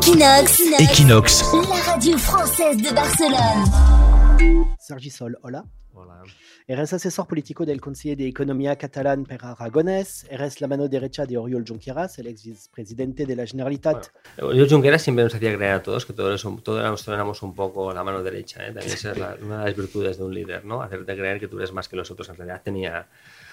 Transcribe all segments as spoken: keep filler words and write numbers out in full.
Equinox, Equinox, la radio française de Barcelone. Sergi Sol, hola. Hola. Eres asesor político del Consejo de Economía catalán per Aragonés. Eres la mano derecha de Oriol Junqueras, el ex vicepresidente de la Generalitat. Bueno, Oriol Junqueras siempre nos hacía creer a todos que todos, todos éramos, éramos un poco la mano derecha, ¿eh? También esa es la, una de las virtudes de un líder, ¿no? Hacerte creer que tú eres más que los otros. En realidad tenía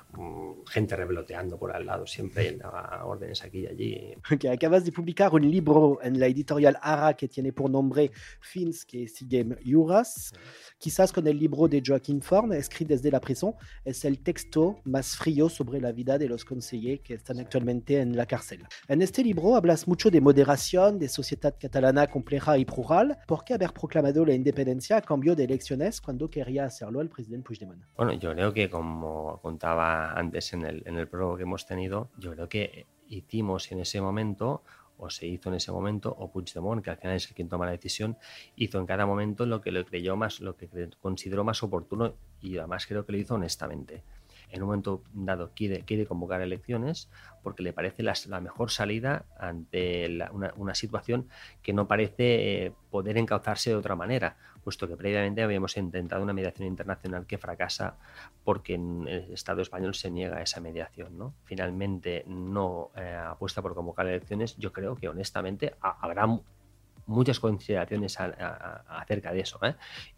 um, gente revoloteando por al lado, siempre daba órdenes aquí y allí. Que acabas de publicar un libro en la editorial Ara que tiene por nombre Fins que siguen Juras. Quizás con el libro de Joaquín Forn, escrito desde la prisión, es el texto más frío sobre la vida de los consejeros que están actualmente en la cárcel. En este libro hablas mucho de moderación, de sociedad catalana compleja y plural. ¿Por qué haber proclamado la independencia a cambio de elecciones cuando quería hacerlo el presidente Puigdemont? Bueno, yo creo que, como contaba antes en el, en el prólogo que hemos tenido, yo creo que hicimos en ese momento, o se hizo en ese momento, o Puigdemont, que al final es el quien toma la decisión, hizo en cada momento lo que le creyó más, lo que consideró más oportuno, y además creo que lo hizo honestamente. En un momento dado quiere, quiere convocar elecciones porque le parece la, la mejor salida ante la, una, una situación que no parece eh, poder encauzarse de otra manera, puesto que previamente habíamos intentado una mediación internacional que fracasa porque en el Estado español se niega a esa mediación, ¿no? Finalmente no eh, apuesta por convocar elecciones. Yo creo que honestamente a, habrá muchas consideraciones a, a, acerca de eso, ¿eh?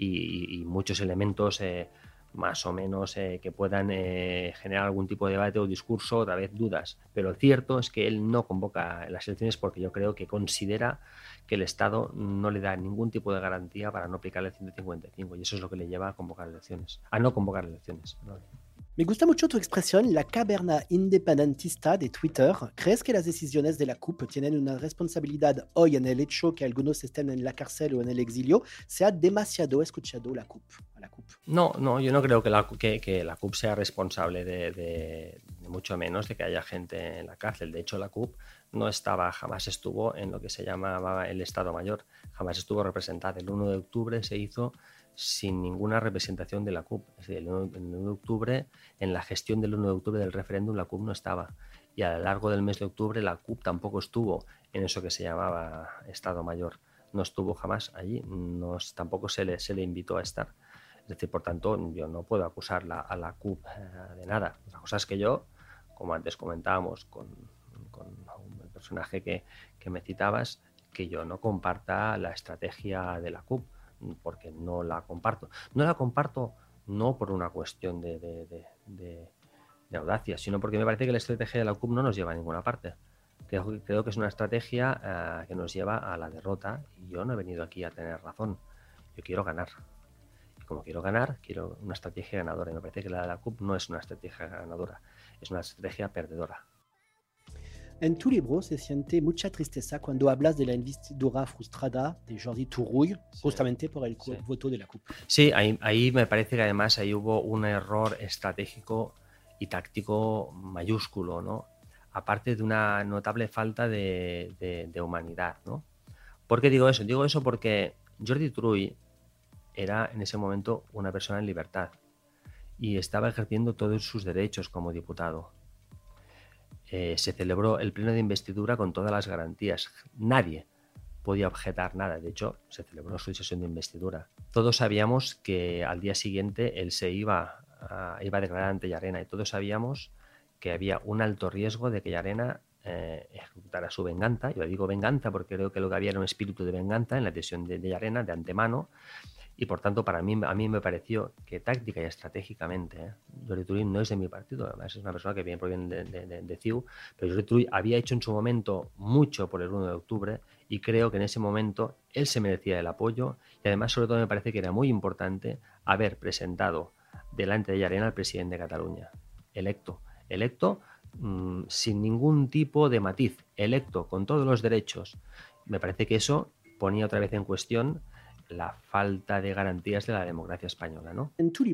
y, y, y muchos elementos eh, más o menos eh, que puedan eh, generar algún tipo de debate o discurso, otra vez dudas. Pero lo cierto es que él no convoca las elecciones porque yo creo que considera que el Estado no le da ningún tipo de garantía para no aplicar el ciento cincuenta y cinco, y eso es lo que le lleva a convocar elecciones, a no convocar elecciones. ¿No? Me gusta mucho tu expresión, la caverna independentista de Twitter. ¿Crees que las decisiones de la C U P tienen una responsabilidad hoy en el hecho que algunos estén en la cárcel o en el exilio? ¿Se ha demasiado escuchado la C U P, a la C U P? No, no, yo no creo que la, que, que la C U P sea responsable de, de, de mucho menos de que haya gente en la cárcel. De hecho, la C U P no estaba, jamás estuvo en lo que se llamaba el Estado Mayor, jamás estuvo representada. El uno de octubre se hizo sin ninguna representación de la C U P. Es decir, el uno de octubre, en la gestión del uno de octubre del referéndum, la C U P no estaba. Y a lo largo del mes de octubre la C U P tampoco estuvo en eso que se llamaba Estado Mayor. No estuvo jamás allí, no, tampoco se le, se le invitó a estar. Es decir, por tanto, yo no puedo acusar la, a la C U P eh, de nada. La cosa es que yo, como antes comentábamos con, con el personaje que, que me citabas, que yo no comparta la estrategia de la C U P, porque no la comparto. No la comparto no por una cuestión de, de, de, de, de audacia, sino porque me parece que la estrategia de la C U P no nos lleva a ninguna parte. Creo, creo que es una estrategia uh, que nos lleva a la derrota, y yo no he venido aquí a tener razón. Yo quiero ganar. Y como quiero ganar, quiero una estrategia ganadora. Y me parece que la de la C U P no es una estrategia ganadora, es una estrategia perdedora. En tu libro se siente mucha tristeza cuando hablas de la investidura frustrada de Jordi Turull, sí, justamente por el sí. voto de la C U P. Sí, ahí, ahí me parece que además ahí hubo un error estratégico y táctico mayúsculo, ¿no? Aparte de una notable falta de, de, de humanidad, ¿no? ¿Por qué digo eso? Digo eso porque Jordi Turull era en ese momento una persona en libertad y estaba ejerciendo todos sus derechos como diputado. Eh, se celebró el pleno de investidura con todas las garantías. Nadie podía objetar nada. De hecho, se celebró su sesión de investidura. Todos sabíamos que al día siguiente él se iba a, iba a declarar ante Llarena, y todos sabíamos que había un alto riesgo de que Llarena eh, ejecutara su venganza. Yo digo venganza porque creo que lo que había era un espíritu de venganza en la decisión de, de Llarena de antemano. Y por tanto, para mí, a mí me pareció que táctica y estratégicamente, ¿eh? Jordi Turull no es de mi partido, además es una persona que viene, proviene de, de, de, de C I U, pero Jordi Turull había hecho en su momento mucho por el uno de octubre, y creo que en ese momento él se merecía el apoyo, y además sobre todo me parece que era muy importante haber presentado delante de Llarena al presidente de Cataluña, electo, electo mmm, sin ningún tipo de matiz, electo con todos los derechos. Me parece que eso ponía otra vez en cuestión la falta de garantías de la democracia española, ¿no? En tu libro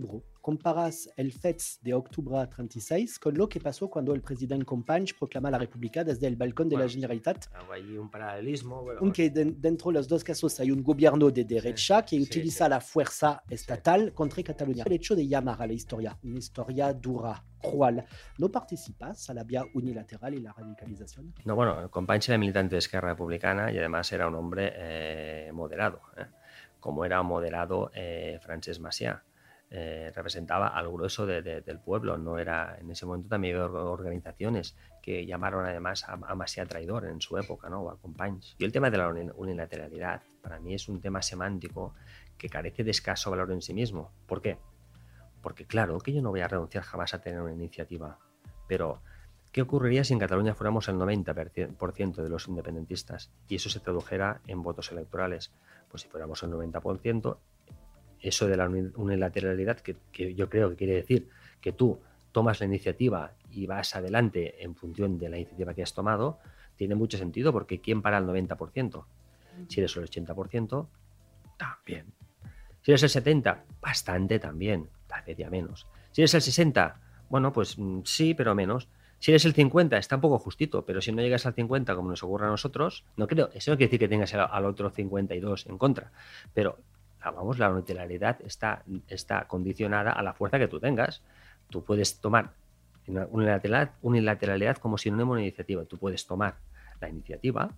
comparas el fets de octubre treinta y seis con lo que pasó cuando el presidente Companys proclama la República desde el balcón de Bueno, la Generalitat. hago allí un paralelismo. Bueno, Aunque de, dentro de los dos casos hay un gobierno de derecha Sí, que sí, utiliza sí. la fuerza estatal contra Cataluña. El hecho de llamar a la historia una historia dura, cruel, ¿no participas a la vía unilateral y la radicalización? No, bueno, Companys era militante de Esquerra Republicana y además era un hombre eh, moderado, ¿eh? Como era moderado eh, Francesc Macià. Eh, representaba al grueso de, de, del pueblo. No era, en ese momento también había organizaciones que llamaron además a, a Macià traidor en su época, ¿no? O a Companys. Y el tema de la unilateralidad para mí es un tema semántico que carece de escaso valor en sí mismo. ¿Por qué? Porque claro que yo no voy a renunciar jamás a tener una iniciativa, pero ¿qué ocurriría si en Cataluña fuéramos el noventa por ciento de los independentistas y eso se tradujera en votos electorales? Pues si fuéramos el noventa por ciento, eso de la unilateralidad, que, que yo creo que quiere decir que tú tomas la iniciativa y vas adelante en función de la iniciativa que has tomado, tiene mucho sentido, porque ¿quién para el noventa por ciento? Si eres el ochenta por ciento, también. Si eres el setenta por ciento, bastante también, tal vez ya menos. Si eres el sesenta por ciento, bueno, pues sí, pero menos. Si eres el cincuenta por ciento, está un poco justito, pero si no llegas al cincuenta por ciento, como nos ocurre a nosotros, no creo, eso no quiere decir que tengas al otro cincuenta y dos por ciento en contra, pero vamos, la unilateralidad está, está condicionada a la fuerza que tú tengas. Tú puedes tomar unilateralidad, unilateralidad como sinónimo de iniciativa. Tú puedes tomar la iniciativa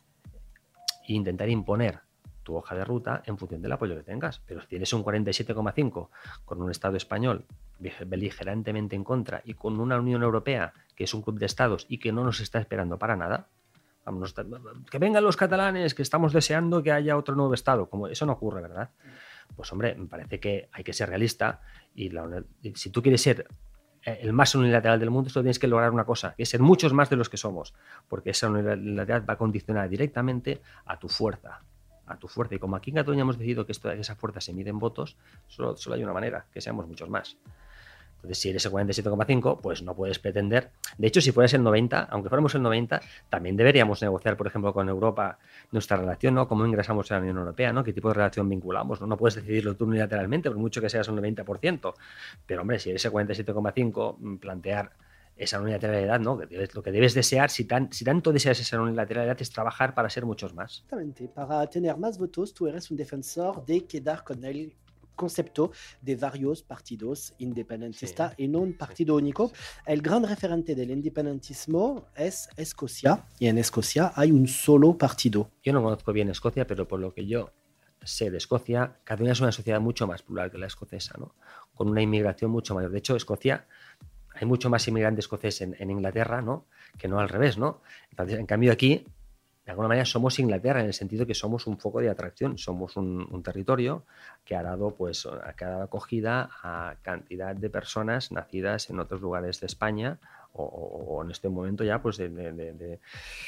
e intentar imponer tu hoja de ruta en función del apoyo que tengas. Pero si tienes un cuarenta y siete coma cinco con un Estado español beligerantemente en contra y con una Unión Europea que es un club de estados y que no nos está esperando para nada, vamos, que vengan los catalanes, que estamos deseando que haya otro nuevo Estado, como eso no ocurre, ¿verdad? Pues hombre, me parece que hay que ser realista y, la, y si tú quieres ser el más unilateral del mundo, solo tienes que lograr una cosa, que es ser muchos más de los que somos, porque esa unilateralidad va a condicionar directamente a tu fuerza, a tu fuerza. Y como aquí en Cataluña hemos decidido que, esto, que esa fuerza se mide en votos, solo, solo hay una manera, que seamos muchos más. Entonces, si eres el cuarenta y siete coma cinco, pues no puedes pretender. De hecho, si fueras el noventa, aunque fuéramos el noventa, también deberíamos negociar, por ejemplo, con Europa nuestra relación, ¿no? Cómo ingresamos a la Unión Europea, ¿no? ¿Qué tipo de relación vinculamos? No, no puedes decidirlo tú unilateralmente, por mucho que seas un noventa por ciento. Pero, hombre, si eres el cuarenta y siete coma cinco, plantear esa unilateralidad, ¿no? Que debes, lo que debes desear, si, tan, si tanto deseas esa unilateralidad, es trabajar para ser muchos más. Exactamente. Para tener más votos, tú eres un defensor de quedar con el concepto de varios partidos independentistas sí, y no un partido sí, único. Sí. El gran referente del independentismo es Escocia, y en Escocia hay un solo partido. Yo no conozco bien Escocia, pero por lo que yo sé de Escocia, Cataluña es una sociedad mucho más plural que la escocesa, ¿no? Con una inmigración mucho mayor. De hecho, Escocia, hay mucho más inmigrante escocés en, en Inglaterra, ¿no? Que no al revés, ¿no? Entonces, en cambio aquí, de alguna manera somos Inglaterra en el sentido que somos un foco de atracción, somos un, un territorio que ha dado, pues, que ha dado acogida a cantidad de personas nacidas en otros lugares de España o, o en este momento ya pues de, de, de, de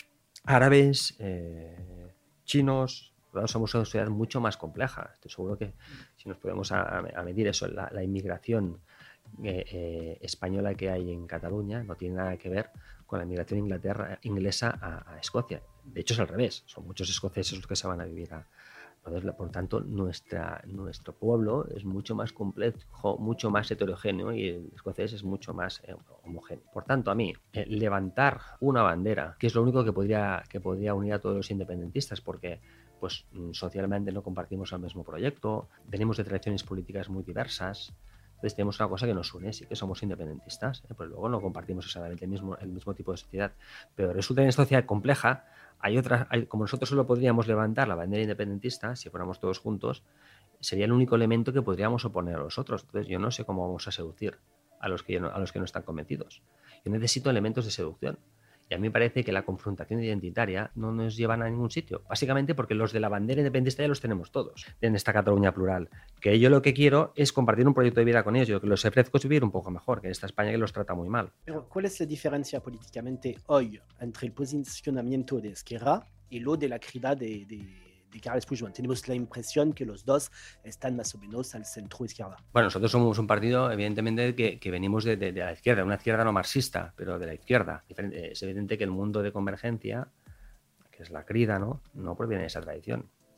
árabes, eh, chinos. Somos una sociedad mucho más compleja. Estoy seguro que si nos podemos a, a medir eso, la, la inmigración eh, eh, española que hay en Cataluña no tiene nada que ver con la inmigración Inglaterra, inglesa a, a Escocia. De hecho es al revés, son muchos escoceses los que se van a vivir a... Por tanto, nuestra, nuestro pueblo es mucho más complejo, mucho más heterogéneo y el escocés es mucho más eh, homogéneo. Por tanto, a mí, eh, levantar una bandera, que es lo único que podría, que podría unir a todos los independentistas, porque pues socialmente no compartimos el mismo proyecto, venimos de tradiciones políticas muy diversas. Entonces tenemos una cosa que nos une, sí que somos independentistas, ¿eh? Pues luego no compartimos exactamente el mismo, el mismo tipo de sociedad. Pero resulta que en esta sociedad compleja, hay otras, hay, como nosotros solo podríamos levantar la bandera independentista, si fuéramos todos juntos, sería el único elemento que podríamos oponer a los otros. Entonces yo no sé cómo vamos a seducir a los que, a los que no están convencidos. Yo necesito elementos de seducción. Y a mí me parece que la confrontación identitaria no nos lleva a ningún sitio. Básicamente porque los de la bandera independentista ya los tenemos todos en esta Cataluña plural. Que yo lo que quiero es compartir un proyecto de vida con ellos. Yo lo que los ofrezco es vivir un poco mejor que en esta España que los trata muy mal. Pero ¿cuál es la diferencia políticamente hoy entre el posicionamiento de Esquerra y lo de la crida de, de, de Carles Puigdemont? Tenemos la impresión que los dos están más o menos al centro izquierda. Bueno, nosotros somos un partido, evidentemente, que, que venimos de, de, de la izquierda, una izquierda no marxista, pero de la izquierda. Es evidente que el mundo de convergencia, que es la crida, ¿no? No proviene de esa tradición.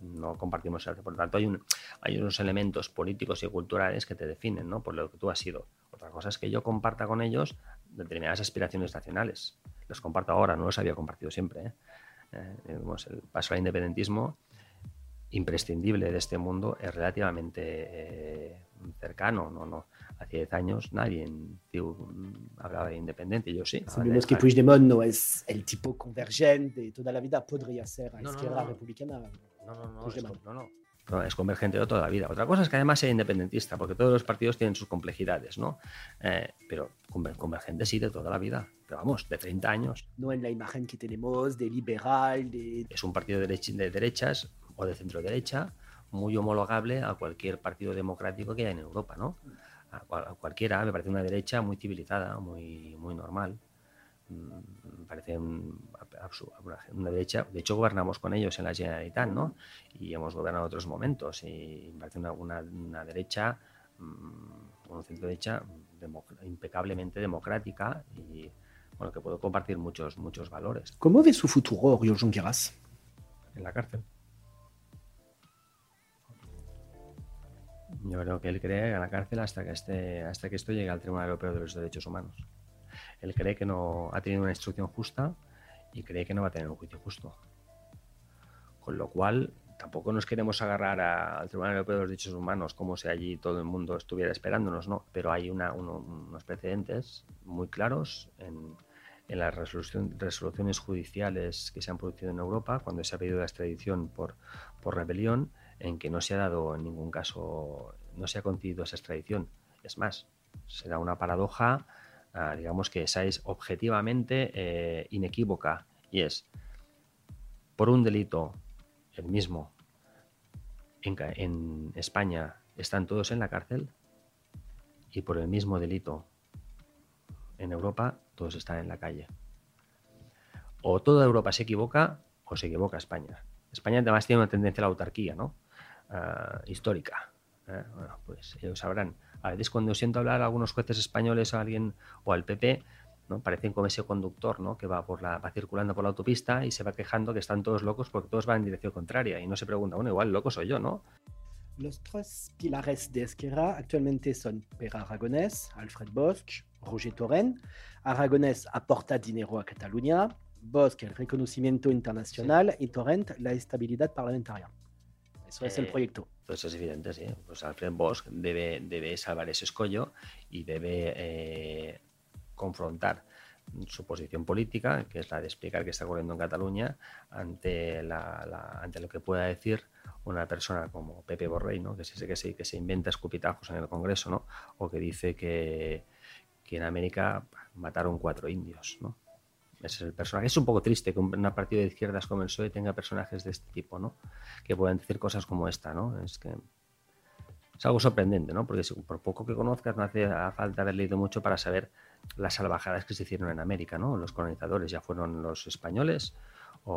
no compartimos arte. Por lo tanto, hay, un, hay unos elementos políticos y culturales que te definen, ¿no? Por lo que tú has sido. Otra cosa es que yo comparta con ellos determinadas aspiraciones nacionales. Los comparto ahora, no los había compartido siempre, ¿eh? Eh, digamos, el paso al independentismo imprescindible de este mundo es relativamente eh, cercano, no, no. Hace diez años nadie tío, hablaba de independiente, yo sí. Sabemos que Puigdemont no es el tipo convergente de toda la vida, podría ser a no, izquierda no, no. republicana. No, no, no, es, no, no. No, es convergente de toda la vida. Otra cosa es que además sea independentista, porque todos los partidos tienen sus complejidades, ¿no? Eh, pero convergente sí de toda la vida, pero vamos, de treinta años. No en la imagen que tenemos de liberal, de... Es un partido de, derech de derechas o de centro derecha muy homologable a cualquier partido democrático que haya en Europa, ¿no? A, cual, a cualquiera, me parece una derecha muy civilizada, muy, muy normal. Me parece un, una derecha. De hecho, gobernamos con ellos en la Generalitat, ¿no? Y hemos gobernado otros momentos. Y me parece una, una, una derecha, una centro derecha impecablemente democrática y bueno, que puedo compartir muchos, muchos valores. ¿Cómo ve su futuro, Oriol Junqueras? En la cárcel. Yo creo que él cree en la cárcel hasta que, esté, hasta que esto llegue al Tribunal Europeo de los Derechos Humanos. Él cree que no ha tenido una instrucción justa y cree que no va a tener un juicio justo. Con lo cual, tampoco nos queremos agarrar a, al Tribunal Europeo de los Derechos Humanos como si allí todo el mundo estuviera esperándonos, ¿no? Pero hay una, uno, unos precedentes muy claros en, en las resolución, resoluciones judiciales que se han producido en Europa cuando se ha pedido la extradición por, por rebelión, en que no se ha dado en ningún caso, no se ha concedido esa extradición. Es más, se da una paradoja, uh, digamos que esa es objetivamente eh, inequívoca, y es, por un delito, el mismo, en, en España están todos en la cárcel, y por el mismo delito, en Europa, todos están en la calle. O toda Europa se equivoca, o se equivoca España. España además tiene una tendencia a la autarquía, ¿no? Uh, histórica. ¿eh? Bueno, pues ellos sabrán. A veces cuando siento hablar a algunos jueces españoles o a alguien o al P P, ¿no? Parecen como ese conductor, ¿no? Que va por la va circulando por la autopista y se va quejando que están todos locos porque todos van en dirección contraria y no se pregunta, bueno, igual loco soy yo, ¿no? Los tres pilares de Esquerra actualmente son Pere Aragonès, Alfred Bosch, Roger Torrent. Aragonès aporta dinero a Cataluña, Bosch el reconocimiento internacional sí. Y Torrent la estabilidad parlamentaria. Eso es eh, el proyecto. Pues es evidente, sí. Pues Alfred Bosch debe, debe salvar ese escollo y debe eh, confrontar su posición política, que es la de explicar qué está ocurriendo en Cataluña, ante, la, la, ante lo que pueda decir una persona como Pepe Borrell, ¿no? que, se, que, se, que se inventa escupitajos en el Congreso, ¿no? O que dice que, que en América mataron cuatro indios, ¿no? Ese es el personaje. Es un poco triste que un partido de izquierdas como el P S O E tenga personajes de este tipo, ¿no? Que puedan decir cosas como esta, ¿no? Es que es algo sorprendente, ¿no? Porque si, por poco que conozcas, no hace falta haber leído mucho para saber las salvajadas que se hicieron en América, ¿no? Los colonizadores, ya fueron los españoles o,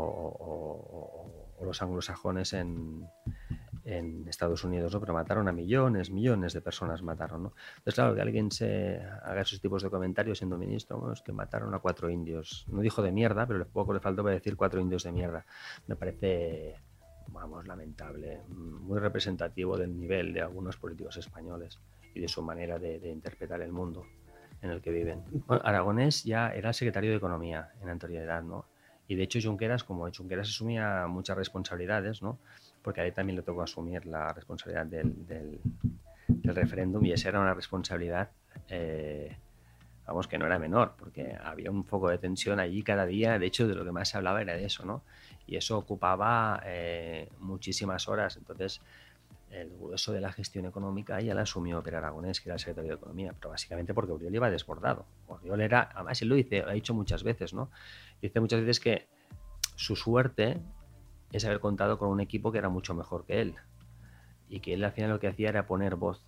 o, o los anglosajones en, en Estados Unidos, ¿no? Pero mataron a millones, millones de personas mataron, ¿no? Entonces, claro, que alguien se haga esos tipos de comentarios siendo ministro, bueno, es que mataron a cuatro indios. No dijo de mierda, pero poco le faltó para decir cuatro indios de mierda. Me parece, vamos, lamentable, muy representativo del nivel de algunos políticos españoles y de su manera de, de interpretar el mundo en el que viven. Bueno, Aragonès ya era secretario de Economía en anterioridad, ¿no? Y de hecho Junqueras, como Junqueras asumía muchas responsabilidades, ¿no? Porque a él también le tocó asumir la responsabilidad del, del, del referéndum y esa era una responsabilidad, eh, vamos, que no era menor, porque había un foco de tensión allí cada día. De hecho, de lo que más se hablaba era de eso, ¿no? Y eso ocupaba eh, muchísimas horas. Entonces, el grueso de la gestión económica ya la asumió Pere Aragonès, que era el secretario de Economía, pero básicamente porque Oriol iba desbordado. Oriol era, además él lo dice, lo ha dicho muchas veces, ¿no? Dice muchas veces que su suerte es haber contado con un equipo que era mucho mejor que él y que él al final lo que hacía era poner voz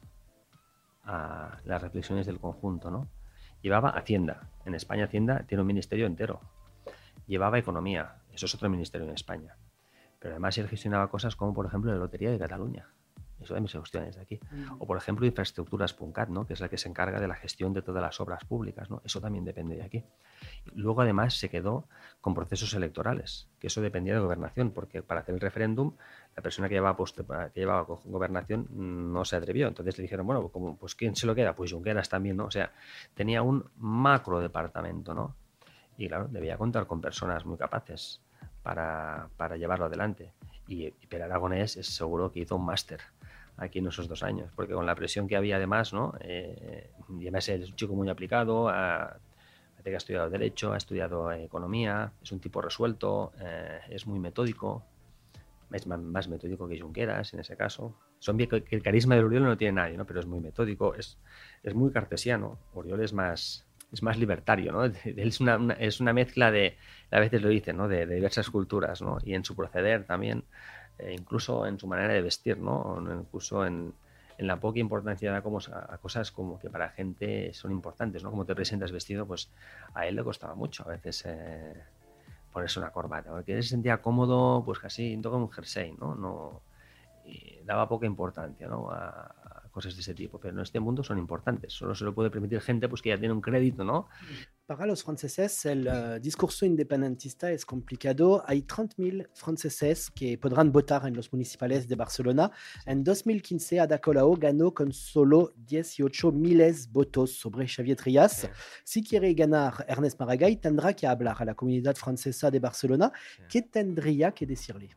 a las reflexiones del conjunto, ¿no? Llevaba Hacienda. En España Hacienda tiene un ministerio entero. Llevaba Economía. Eso es otro ministerio en España. Pero además él gestionaba cosas como, por ejemplo, la Lotería de Cataluña. Eso también se gestiona desde aquí. Mm. O, por ejemplo, infraestructuras.cat, ¿no? Que es la que se encarga de la gestión de todas las obras públicas, ¿no? Eso también depende de aquí. Luego, además, se quedó con procesos electorales, que eso dependía de gobernación, porque para hacer el referéndum, la persona que llevaba, post- que llevaba gobernación no se atrevió. Entonces le dijeron, bueno, como, pues ¿quién se lo queda? Pues Junqueras también, ¿no? O sea, tenía un macro departamento, ¿no? Y claro, debía contar con personas muy capaces para, para llevarlo adelante. Y, y Per Aragonés es seguro que hizo un máster aquí en esos dos años, porque con la presión que había además, ¿no? Eh, y además es un chico muy aplicado, a, que ha estudiado Derecho, ha estudiado eh, Economía, es un tipo resuelto, eh, es muy metódico, es más, más metódico que Junqueras en ese caso. Son bien que el carisma de Oriol no lo tiene nadie, ¿no? Pero es muy metódico, es, es muy cartesiano. Oriol es más, es más libertario, ¿no? Él es una, una, es una mezcla de, a veces lo dicen, ¿no? De, de diversas culturas, ¿no? Y en su proceder también, eh, incluso en su manera de vestir, ¿no? Incluso en, en la poca importancia da como a cosas como que para gente son importantes, ¿no? Como te presentas vestido, pues a él le costaba mucho a veces eh, ponerse una corbata, porque él se sentía cómodo, pues casi como un jersey, ¿no? No y daba poca importancia, ¿no? a, a cosas de ese tipo, pero en este mundo son importantes, solo se lo puede permitir gente pues que ya tiene un crédito, ¿no? Para los franceses, el uh, discurso independentista es complicado. Hay treinta mil franceses que podrán votar en los municipales de Barcelona. En dos mil quince, Ada Colau ganó con solo dieciocho mil votos sobre Xavier Trias. Sí. Si quiere ganar Ernest Maragall, tendrá que hablar a la comunidad francesa de Barcelona. Sí. ¿Qué tendría que decirle?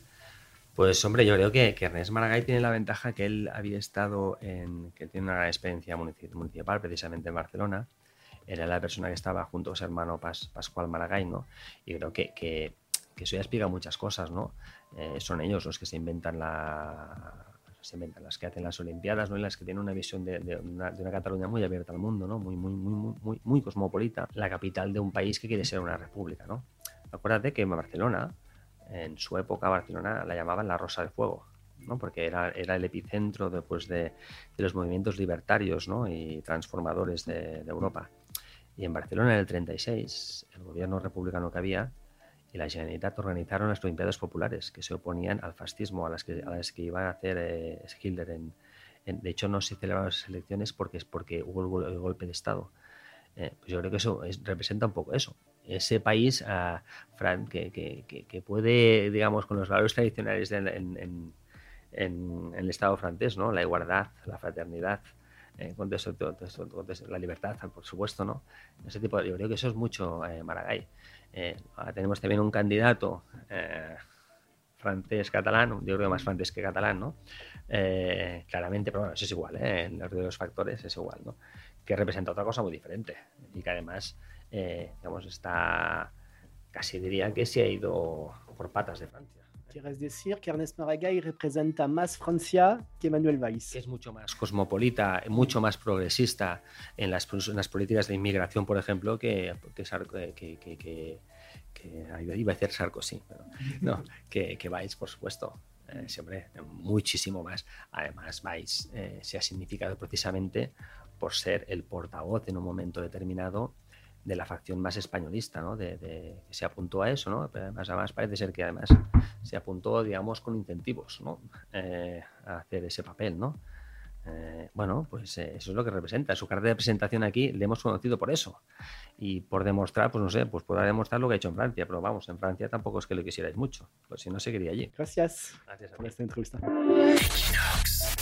Pues hombre, yo creo que, que Ernest Maragall tiene la ventaja que él había estado en, que tiene una gran experiencia municipal, precisamente en Barcelona. Era la persona que estaba junto a su hermano Pas, Pascual Maragall, ¿no? Y creo que, que, que eso ya explica muchas cosas, ¿no? Eh, son ellos los que se inventan la, se inventan las que hacen las Olimpiadas, ¿no? Y las que tienen una visión de, de, una, de una Cataluña muy abierta al mundo, ¿no? Muy, muy, muy, muy, muy cosmopolita, la capital de un país que quiere ser una república, ¿no? Acuérdate que en Barcelona, en su época, Barcelona la llamaban la Rosa del Fuego, ¿no? Porque era, era el epicentro después de, de los movimientos libertarios, ¿no? Y transformadores de, de Europa. Y en Barcelona, en el treinta y seis, el gobierno republicano que había y la Generalitat organizaron las Olimpiadas Populares, que se oponían al fascismo, a las que, a las que iba a hacer eh, Hitler. En, en, de hecho, no se celebraron las elecciones porque, es porque hubo el, el golpe de Estado. Eh, pues yo creo que eso es, representa un poco eso. Ese país, uh, Fran, que, que, que, que puede, digamos, con los valores tradicionales de, en, en, en, en el Estado francés, ¿no? La igualdad, la fraternidad, eh, con eso, todo, todo, todo, la libertad, por supuesto, ¿no? Ese tipo de, yo creo que eso es mucho eh, Maragall. Eh, ahora tenemos también un candidato eh, francés-catalán, yo creo más francés que catalán, ¿no? Eh, claramente, pero bueno, eso es igual, ¿eh? En los de los factores es igual, ¿no? Que representa otra cosa muy diferente y que además, eh, digamos, está, casi diría que se ha ido por patas de Francia. ¿Quieres decir que Ernest Maragall representa más Francia que Manuel Valls? Que es mucho más cosmopolita, mucho más progresista en las, en las políticas de inmigración, por ejemplo, que, que, que, que, que, que iba a decir Sarkozy, pero no, que, que Valls, por supuesto. Eh, siempre muchísimo más. Además, Valls eh, se ha significado precisamente por ser el portavoz en un momento determinado de la facción más españolista, ¿no? De, de, que se apuntó a eso, ¿no? Pero además, además parece ser que además se apuntó, digamos, con incentivos, ¿no? Eh, a hacer ese papel, ¿no? Eh, bueno, pues eh, eso es lo que representa. Su carta de presentación aquí le hemos conocido por eso. Y por demostrar, pues no sé, pues podrá demostrar lo que ha hecho en Francia, pero vamos, en Francia tampoco es que lo quisierais mucho, pues si no seguiría allí. Gracias, Gracias a por ti. esta entrevista.